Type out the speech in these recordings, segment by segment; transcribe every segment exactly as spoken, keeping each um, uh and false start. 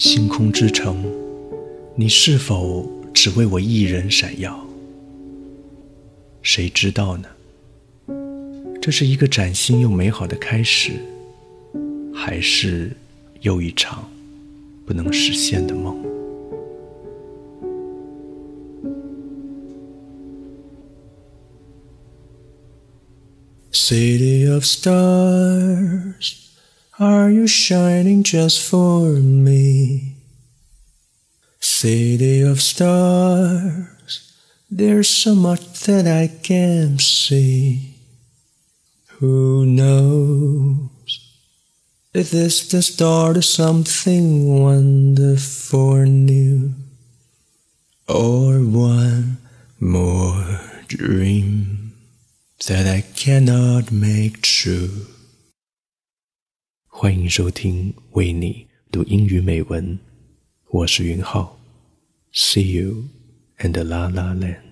星空之城，你是否只为我一人闪耀？谁知道呢？这是一个崭新又美好的开始，还是又一场不能实现的梦？City of stars, are you shining just for me? City of stars, there's so much that I can't see. Who knows if this the start of something wonderful and new, or one more dream that I cannot make true. 欢迎收听为你读英语美文，我是云浩。See you in the La La Land.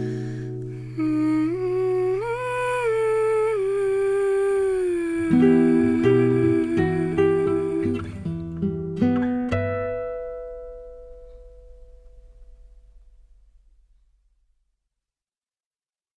Thank you.